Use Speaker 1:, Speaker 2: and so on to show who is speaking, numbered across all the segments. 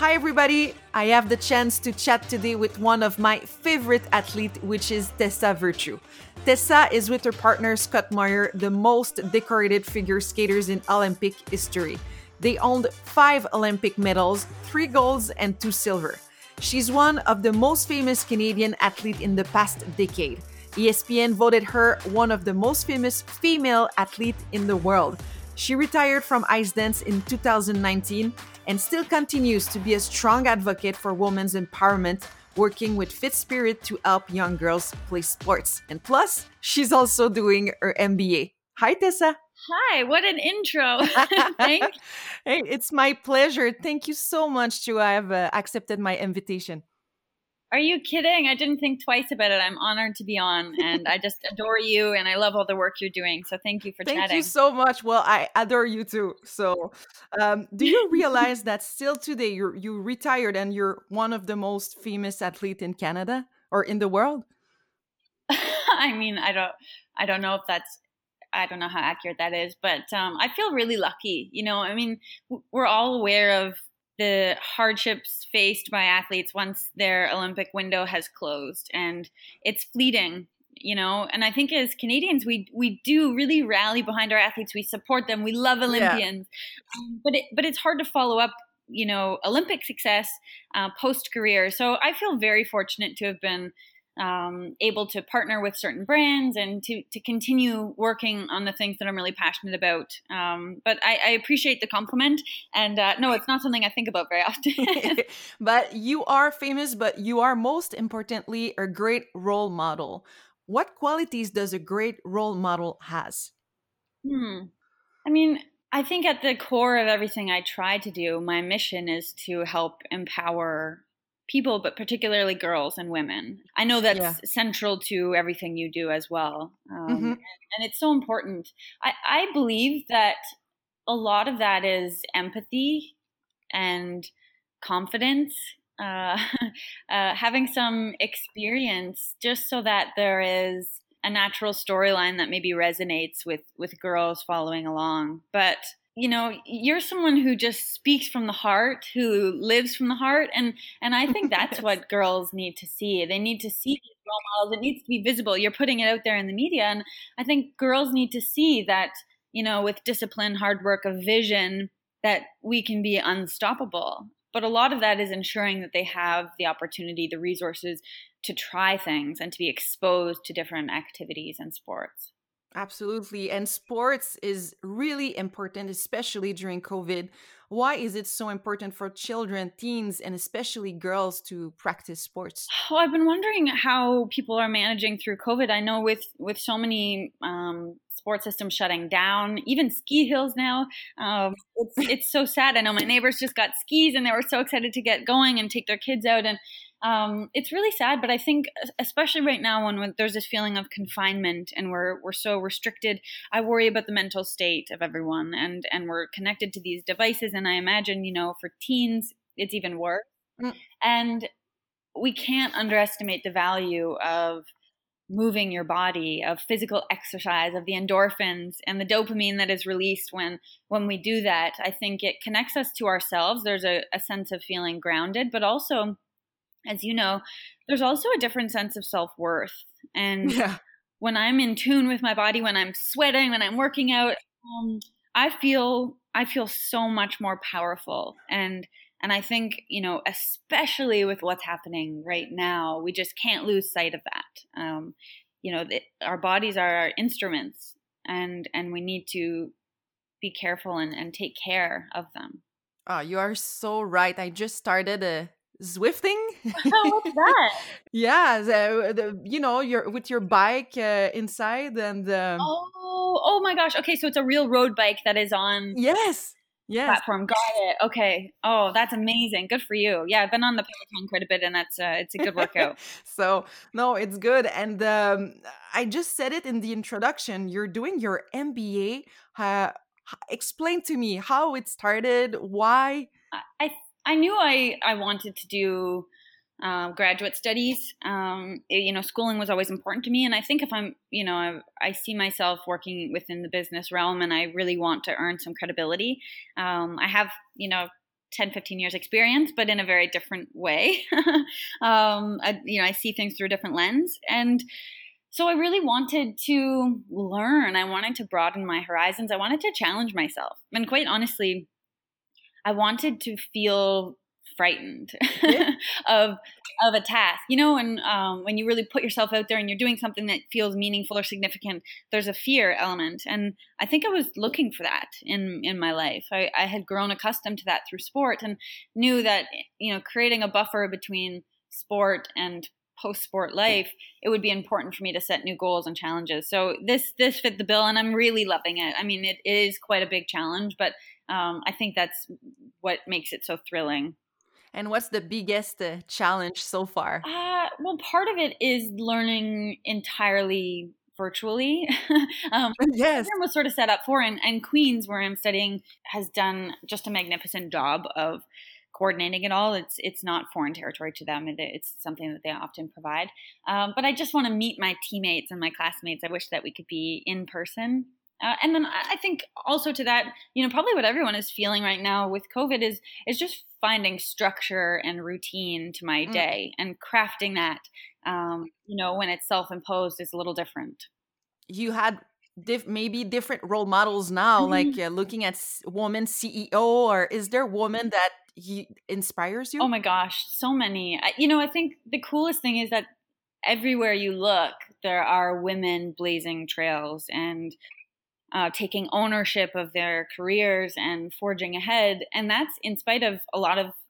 Speaker 1: Hi, everybody. I have the chance to chat today with one of my favorite athletes, which is Tessa Virtue. Tessa is with her partner Scott Moir, the most decorated figure skaters in Olympic history. They owned 5 Olympic medals, 3 golds, and 2 silver. She's one of the most famous Canadian athletes in the past decade. ESPN voted her one of the most famous female athletes in the world. She retired from ice dance in 2019 and still continues to be a strong advocate for women's empowerment, working with Fit Spirit to help young girls play sports. And plus, she's also doing her MBA. Hi, Tessa.
Speaker 2: Hi, what an intro. Thanks.
Speaker 1: Hey, it's my pleasure. Thank you so much to have accepted my invitation.
Speaker 2: Are you kidding? I didn't think twice about it. I'm honored to be on, and I just adore you, and I love all the work you're doing. So thank you for
Speaker 1: Thank
Speaker 2: chatting.
Speaker 1: you so much. Well, I adore you too. So, do you realize that still today you retired and you're one of the most famous athletes in Canada or in the world?
Speaker 2: I mean, I don't know if that's, I don't know how accurate that is, but I feel really lucky. I mean, we're all aware of the hardships faced by athletes once their Olympic window has closed, and it's fleeting. And I think as Canadians, we do really rally behind our athletes. We support them. We love
Speaker 1: Yeah.
Speaker 2: Olympians, but it's hard to follow up. Olympic success post career. So I feel very fortunate to have been able to partner with certain brands and to continue working on the things that I'm really passionate about. But I appreciate the compliment. And no, it's not something I think about very often.
Speaker 1: But you are famous, but you are most importantly a great role model. What qualities does a great role model has?
Speaker 2: I mean, I think at the core of everything I try to do, my mission is to help empower people, but particularly girls and women. I know
Speaker 1: Yeah.
Speaker 2: that's central to everything you do as well.
Speaker 1: Hmm.
Speaker 2: And it's so important. I believe that a lot of that is empathy and confidence, uh, having some experience, just so that there is a natural storyline that maybe resonates with girls following along. But you're someone who just speaks from the heart, who lives from the heart, and I think that's
Speaker 1: Yes.
Speaker 2: what girls need to see. They need to see these role models. It needs to be visible. You're putting it out there in the media, and I think girls need to see that, with discipline, hard work, a vision, that we can be unstoppable. But a lot of that is ensuring that they have the opportunity, the resources to try things and to be exposed to different activities and sports.
Speaker 1: Absolutely. And sports is really important, especially during COVID. Why is it so important for children, teens, and especially girls to practice sports?
Speaker 2: Well, I've been wondering how people are managing through COVID. I know with so many sports systems shutting down, even ski hills now. It's so sad. I know my neighbors just got skis and they were so excited to get going and take their kids out, and it's really sad. But I think, especially right now, when there's this feeling of confinement and we're so restricted, I worry about the mental state of everyone, and we're connected to these devices. And I imagine, for teens, it's even worse.
Speaker 1: Mm.
Speaker 2: And we can't underestimate the value of moving your body, of physical exercise, of the endorphins and the dopamine that is released when we do that. I think it connects us to ourselves. There's a sense of feeling grounded, but also, as you know, there's also a different sense of self-worth. And
Speaker 1: Yeah.
Speaker 2: when I'm in tune with my body, when I'm sweating, when I'm working out, I feel so much more powerful. And I think, especially with what's happening right now, we just can't lose sight of that. Our bodies are our instruments, and we need to be careful and take care of them.
Speaker 1: Oh, you are so right. I just started Zwifting.
Speaker 2: Oh, what's that?
Speaker 1: Yeah, you're with your bike inside, and
Speaker 2: Oh my gosh. Okay, so it's a real road bike that is on
Speaker 1: yes, yes.
Speaker 2: platform. Got it. Okay. Oh, that's amazing. Good for you. Yeah, I've been on the Peloton quite a bit, and that's it's a good workout.
Speaker 1: So no, it's good. And I just said it in the introduction. You're doing your MBA. Explain to me how it started. Why?
Speaker 2: I I knew I wanted to do graduate studies. Schooling was always important to me, and I think if I see myself working within the business realm, and I really want to earn some credibility. I have 10-15 years experience, but in a very different way. I see things through a different lens. And so I really wanted to learn. I wanted to broaden my horizons. I wanted to challenge myself. And quite honestly, I wanted to feel frightened of a task, and when you really put yourself out there and you're doing something that feels meaningful or significant, there's a fear element. And I think I was looking for that in my life. I had grown accustomed to that through sport and knew that, creating a buffer between sport and post-sport life, it would be important for me to set new goals and challenges. So this fit the bill, and I'm really loving it. I mean, it is quite a big challenge, but I think that's what makes it so thrilling.
Speaker 1: And what's the biggest challenge so far?
Speaker 2: Well, part of it is learning entirely virtually.
Speaker 1: Yes.
Speaker 2: Program was sort of set up for, and Queen's, where I'm studying, has done just a magnificent job of coordinating it all. It's not foreign territory to them. It's something that they often provide. But I just want to meet my teammates and my classmates. I wish that we could be in person. And then I think also to that, probably what everyone is feeling right now with COVID is just finding structure and routine to my day and crafting that, when it's self-imposed is a little different.
Speaker 1: You had maybe different role models now, like looking at woman CEO, or is there a woman that inspires you?
Speaker 2: Oh my gosh, so many. I think the coolest thing is that everywhere you look, there are women blazing trails and taking ownership of their careers and forging ahead. And that's in spite of a lot of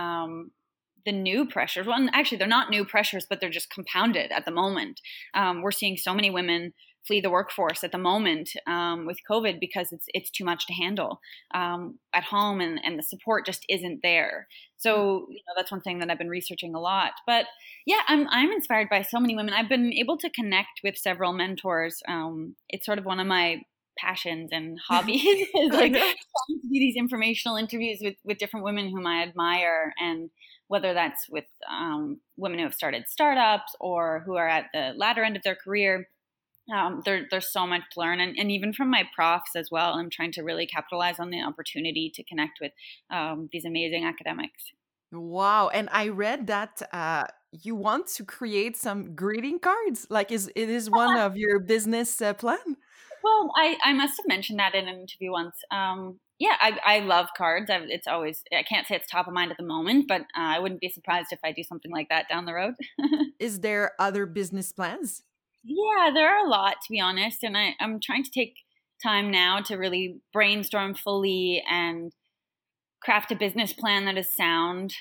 Speaker 2: the new pressures. Well, actually, they're not new pressures, but they're just compounded at the moment. We're seeing so many women flee the workforce at the moment with COVID because it's too much to handle at home, and the support just isn't there. So that's one thing that I've been researching a lot. But yeah, I'm inspired by so many women. I've been able to connect with several mentors. It's sort of one of my passions and hobbies is like trying to do these informational interviews with different women whom I admire, and whether that's with women who have started startups or who are at the latter end of their career. There's so much to learn, and even from my profs as well. I'm trying to really capitalize on the opportunity to connect with these amazing academics.
Speaker 1: Wow. And I read that you want to create some greeting cards. Like, it is one of your business plan?
Speaker 2: Well, I must have mentioned that in an interview once. Yeah, I love cards. It's always, I can't say it's top of mind at the moment, but I wouldn't be surprised if I do something like that down the road.
Speaker 1: Is there other business plans?
Speaker 2: Yeah, there are a lot, to be honest. And I'm trying to take time now to really brainstorm fully and craft a business plan that is sound,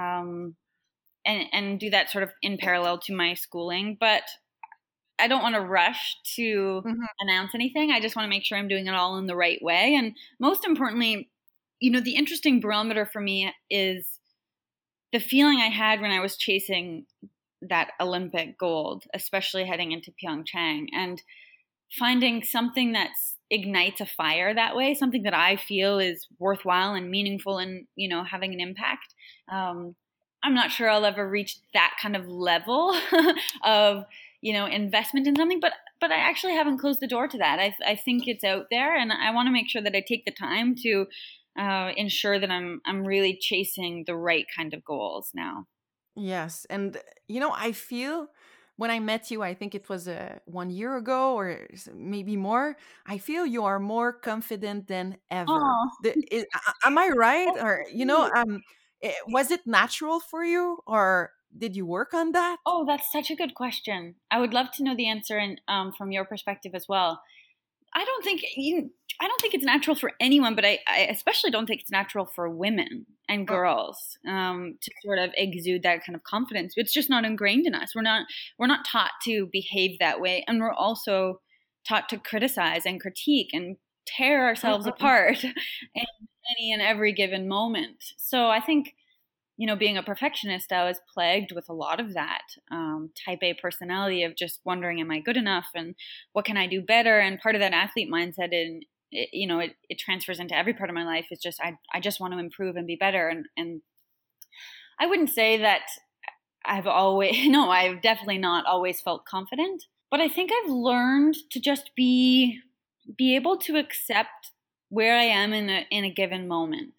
Speaker 2: and do that sort of in parallel to my schooling. But I don't want to rush to announce anything. I just want to make sure I'm doing it all in the right way. And most importantly, the interesting barometer for me is the feeling I had when I was chasing that Olympic gold, especially heading into Pyeongchang, and finding something that ignites a fire that way, something that I feel is worthwhile and meaningful and, having an impact. I'm not sure I'll ever reach that kind of level of, investment in something, but I actually haven't closed the door to that. I think it's out there, and I want to make sure that I take the time to ensure that I'm really chasing the right kind of goals now.
Speaker 1: Yes. And, I feel when I met you, I think it was 1 year ago or maybe more, I feel you are more confident than ever. Am I right? Or, was it natural for you, or did you work on that?
Speaker 2: Oh, that's such a good question. I would love to know the answer, and from your perspective as well. I don't think it's natural for anyone, but I especially don't think it's natural for women and girls to sort of exude that kind of confidence. It's just not ingrained in us. We're not taught to behave that way, and we're also taught to criticize and critique and tear ourselves apart in any and every given moment. So I think, being a perfectionist, I was plagued with a lot of that type A personality of just wondering, am I good enough, and what can I do better? And part of that athlete mindset, and it transfers into every part of my life, is just I just want to improve and be better. And I wouldn't say that I've definitely not always felt confident, but I think I've learned to just be able to accept where I am in a given moment.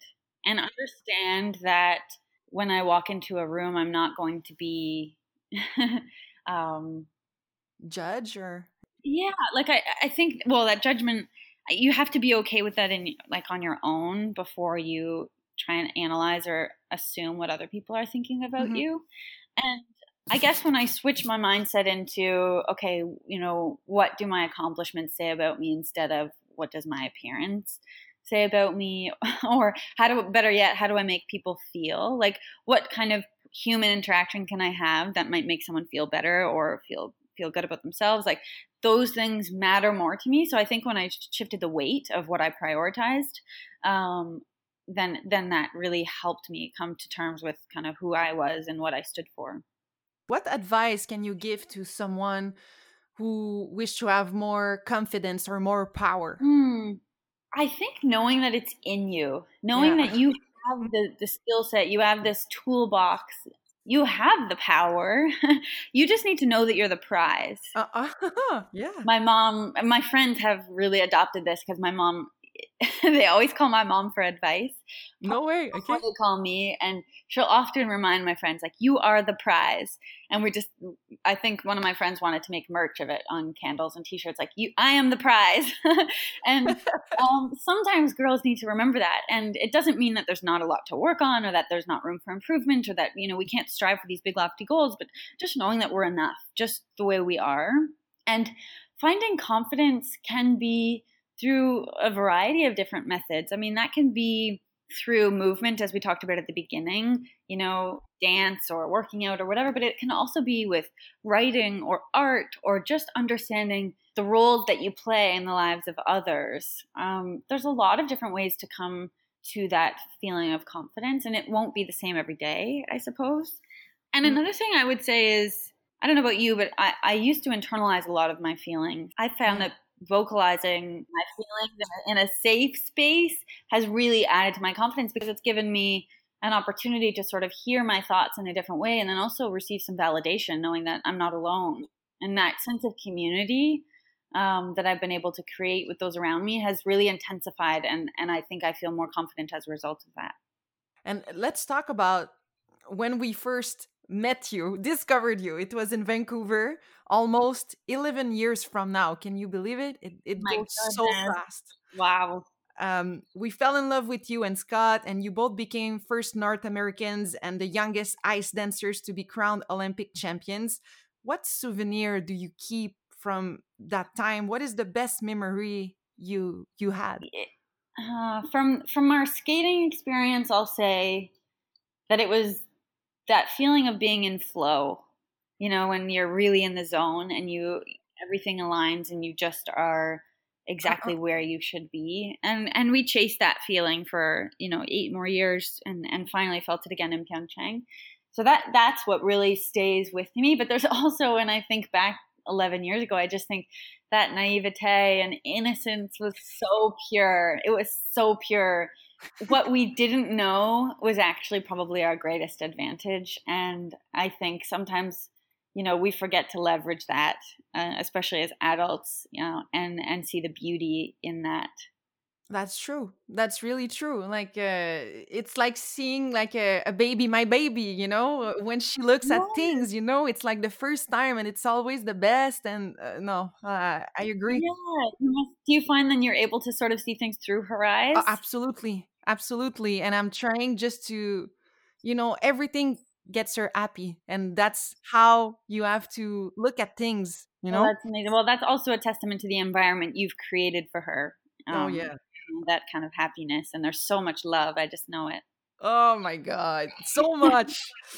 Speaker 2: and understand that when I walk into a room, I'm not going to be, um,
Speaker 1: Judge or
Speaker 2: yeah, like I think, well, that judgment, you have to be okay with that in like on your own before you try and analyze or assume what other people are thinking about
Speaker 1: Mhm.
Speaker 2: you. And I guess when I switch my mindset into, okay, what do my accomplishments say about me instead of what does my appearance say about me? Or better yet, how do I make people feel? Like, what kind of human interaction can I have that might make someone feel better or feel good about themselves? Like, those things matter more to me. So I think when I shifted the weight of what I prioritized, um, then that really helped me come to terms with kind of who I was and what I stood for.
Speaker 1: what advice can you give to someone who wish to have more confidence or more power?
Speaker 2: Hmm. I think knowing that it's in you, knowing
Speaker 1: Yeah.
Speaker 2: that you have the skill set, you have this toolbox, you have the power. You just need to know that you're the prize.
Speaker 1: Yeah.
Speaker 2: My friends have really adopted this because my mom, they always call my mom for advice
Speaker 1: No way.
Speaker 2: before
Speaker 1: Okay.
Speaker 2: they call me, and she'll often remind my friends like, you are the prize. And I think one of my friends wanted to make merch of it on candles and t-shirts, like, I am the prize. And sometimes girls need to remember that, and it doesn't mean that there's not a lot to work on or that there's not room for improvement or that we can't strive for these big lofty goals, but just knowing that we're enough just the way we are. And finding confidence can be through a variety of different methods. I mean, that can be through movement, as we talked about at the beginning, dance or working out or whatever, but it can also be with writing or art or just understanding the roles that you play in the lives of others. There's a lot of different ways to come to that feeling of confidence, and it won't be the same every day, I suppose. And
Speaker 1: Mm,
Speaker 2: another thing I would say is, I don't know about you, but I used to internalize a lot of my feelings. I found
Speaker 1: yeah.
Speaker 2: that vocalizing my feelings in a safe space has really added to my confidence because it's given me an opportunity to sort of hear my thoughts in a different way and then also receive some validation, knowing that I'm not alone. And that sense of community that I've been able to create with those around me has really intensified. And I think I feel more confident as a result of that.
Speaker 1: And let's talk about when we first met you, discovered you. It was in Vancouver, almost 11 years from now. Can you believe it? It
Speaker 2: My
Speaker 1: goes so
Speaker 2: goodness.
Speaker 1: fast.
Speaker 2: Wow.
Speaker 1: We fell in love with you and Scott, and you both became first North Americans and the youngest ice dancers to be crowned Olympic champions. What souvenir do you keep from that time? What is the best memory you had?
Speaker 2: From our skating experience, I'll say that it was that feeling of being in flow. When you're really in the zone and everything aligns and you just are exactly where you should be. And we chased that feeling for 8 more years and finally felt it again in Pyeongchang. So that's what really stays with me. But there's also, when I think back 11 years ago, I just think that naivete and innocence was so pure. It was so pure. What we didn't know was actually probably our greatest advantage. And I think sometimes, we forget to leverage that, especially as adults, and see the beauty in that.
Speaker 1: That's true. That's really true. Like it's like seeing like a baby, my baby. When she looks at
Speaker 2: Yeah,
Speaker 1: things, it's like the first time, and it's always the best. And no, I agree.
Speaker 2: yeah. Do you find then you're able to sort of see things through her eyes?
Speaker 1: Absolutely, absolutely. And I'm trying just to, everything gets her happy, and that's how you have to look at things.
Speaker 2: Well, that's amazing. Well, that's also a testament to the environment you've created for her.
Speaker 1: Oh yeah.
Speaker 2: That kind of happiness, and there's so much love. I just know it.
Speaker 1: Oh my God, so much.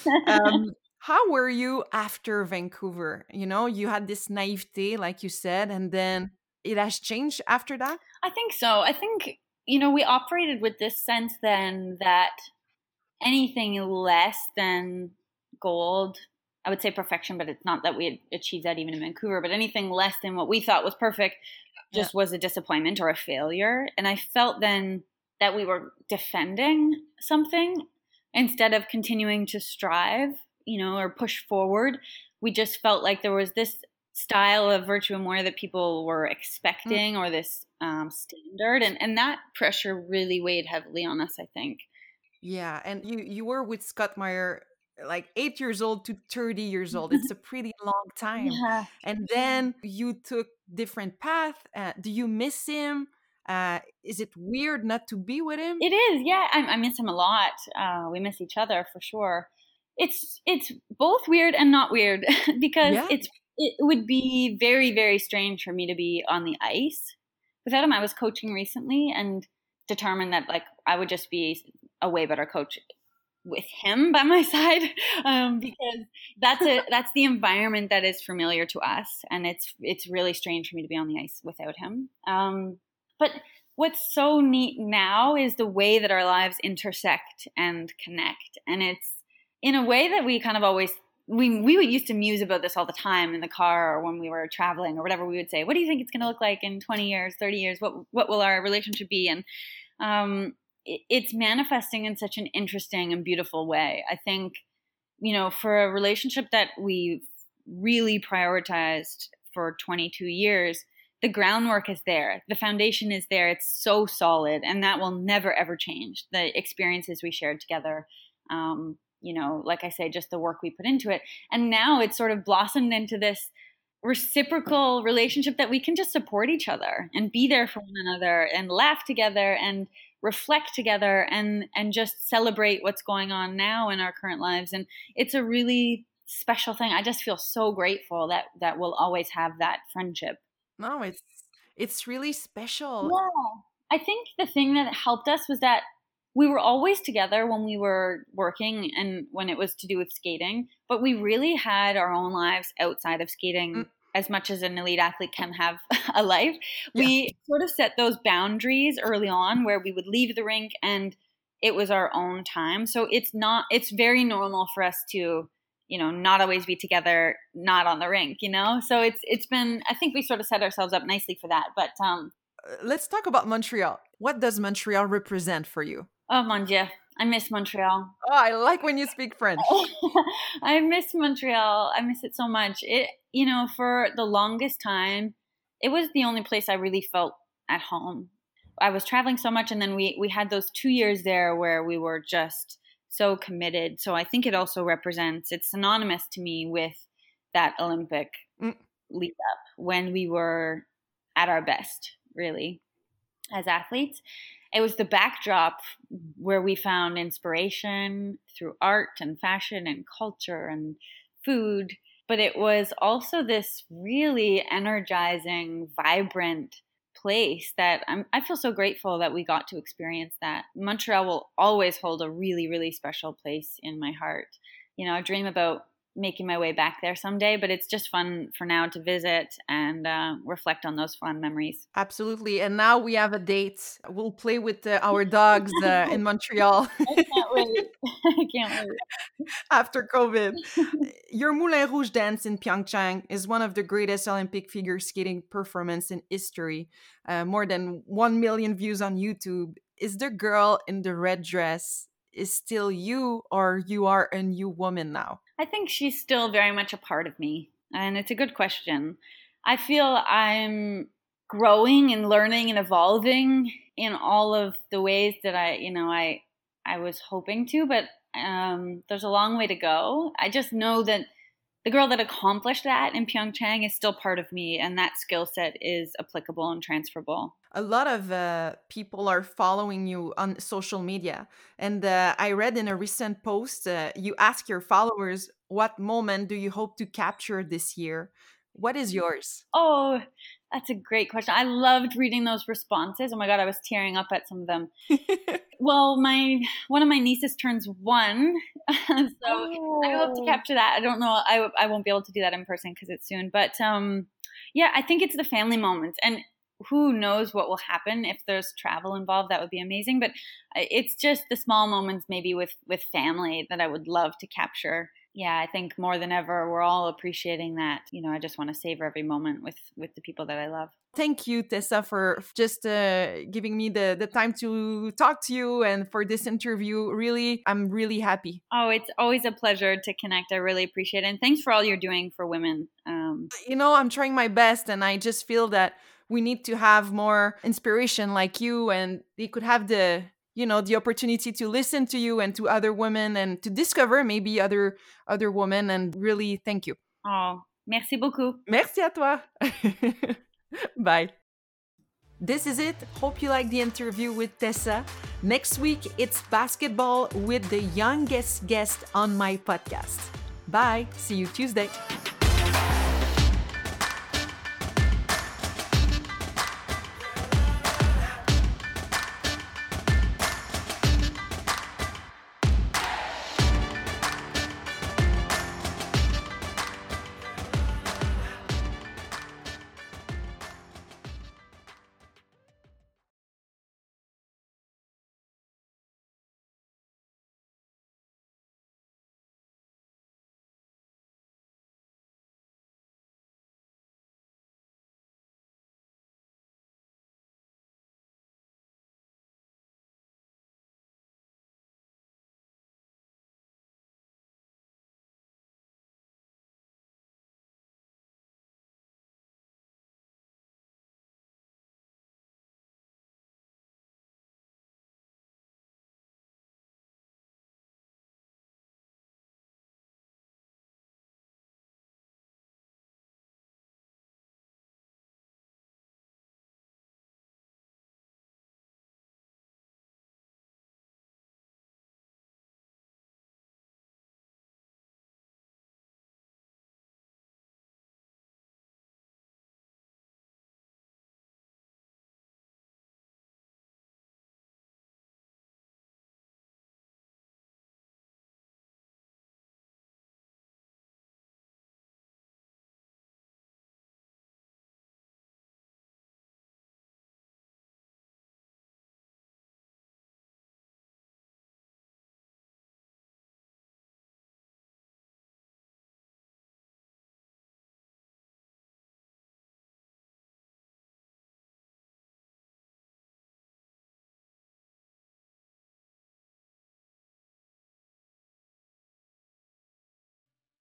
Speaker 1: How were you after Vancouver? You had this naivete, like you said, and then it has changed after that.
Speaker 2: I think so. I think, we operated with this sense then that anything less than gold, I would say perfection, but it's not that we had achieved that even in Vancouver, but anything less than what we thought was perfect
Speaker 1: Yeah.
Speaker 2: just was a disappointment or a failure. And I felt then that we were defending something instead of continuing to strive, or push forward. We just felt like there was this style of virtue and warrior that people were
Speaker 1: Mm.
Speaker 2: expecting, or this standard. And that pressure really weighed heavily on us, I think.
Speaker 1: Yeah, and you were with Scott Meyer like 8 years old to 30 years old. It's a pretty long time.
Speaker 2: Yeah,
Speaker 1: And then you took different path. Do you miss him? Is it weird not to be with him?
Speaker 2: it is. Yeah, I miss him a lot. We miss each other for sure. It's both weird and not weird because
Speaker 1: Yeah.
Speaker 2: it would be very very strange for me to be on the ice without him. I was coaching recently and determined that like I would just be a way better coach with him by my side, because that's the environment that is familiar to us, and it's really strange for me to be on the ice without him. But what's so neat now is the way that our lives intersect and connect, and it's in a way that we kind of always we would used to muse about this all the time in the car or when we were traveling or whatever. We would say, what do you think it's going to look like in 20 years, 30 years? What will our relationship be? And it's manifesting in such an interesting and beautiful way. I think, for a relationship that we've really prioritized for 22 years, the groundwork is there. The foundation is there. It's so solid, and that will never, ever change. The experiences we shared together, like I say, just the work we put into it. And now it's sort of blossomed into this reciprocal relationship that we can just support each other and be there for one another and laugh together and reflect together and just celebrate what's going on now in our current lives. And it's a really special thing. I just feel so grateful that we'll always have that friendship.
Speaker 1: No, it's really special.
Speaker 2: Yeah. I think the thing that helped us was that we were always together when we were working and when it was to do with skating, but we really had our own lives outside of skating.
Speaker 1: Mm,
Speaker 2: As much as an elite athlete can have a life,
Speaker 1: yeah.
Speaker 2: we sort of set those boundaries early on where we would leave the rink and it was our own time. So it's very normal for us to, not always be together, not on the rink, So it's been, I think we sort of set ourselves up nicely for that. But
Speaker 1: Let's talk about Montreal. What does Montreal represent for you?
Speaker 2: oh mon Dieu, I miss Montreal.
Speaker 1: Oh, I like when you speak French.
Speaker 2: I miss Montreal. I miss it so much. For the longest time, it was the only place I really felt at home. I was traveling so much, and then we had those 2 years there where we were just so committed. So I think it also represents, it's synonymous to me with that Olympic
Speaker 1: Mm,
Speaker 2: lead up when we were at our best, really, as athletes. It was the backdrop where we found inspiration through art and fashion and culture and food. But it was also this really energizing, vibrant place that I feel so grateful that we got to experience that. Montreal will always hold a really, really special place in my heart. I dream about making my way back there someday, but it's just fun for now to visit and reflect on those fun memories.
Speaker 1: absolutely. And now we have a date. We'll play with our dogs in Montreal
Speaker 2: I can't wait. I can't wait.
Speaker 1: after COVID. Your Moulin Rouge dance in Pyeongchang is one of the greatest Olympic figure skating performance in history. More than 1 million views on YouTube. Is the girl in the red dress is still you, or you are a new woman now?
Speaker 2: I think she's still very much a part of me, and it's a good question. I feel I'm growing and learning and evolving in all of the ways that I was hoping to, but there's a long way to go. I just know that the girl that accomplished that in Pyeongchang is still part of me, and that skill set is applicable and transferable.
Speaker 1: A lot of people are following you on social media. And I read in a recent post, you ask your followers, what moment do you hope to capture this year? What is yours?
Speaker 2: Oh, that's a great question. I loved reading those responses. Oh my God, I was tearing up at some of them. Well, one of my nieces turns 1, so I hope to
Speaker 1: Oh.
Speaker 2: capture that. I don't know. I won't be able to do that in person because it's soon. But yeah, I think it's the family moments, and who knows what will happen if there's travel involved. That would be amazing. But it's just the small moments, maybe with family, that I would love to capture. Yeah, I think more than ever, we're all appreciating that. I just want to savor every moment with the people that I love.
Speaker 1: Thank you, Tessa, for just giving me the time to talk to you and for this interview. Really, I'm really happy.
Speaker 2: Oh, it's always a pleasure to connect. I really appreciate it. And thanks for all you're doing for women.
Speaker 1: I'm trying my best, and I just feel that we need to have more inspiration like you, and they could have the opportunity to listen to you and to other women and to discover maybe other women. And really, thank you.
Speaker 2: Oh, merci beaucoup.
Speaker 1: Merci à toi. Bye. This is it. Hope you liked the interview with Tessa. Next week, it's basketball with the youngest guest on my podcast. Bye. See you Tuesday.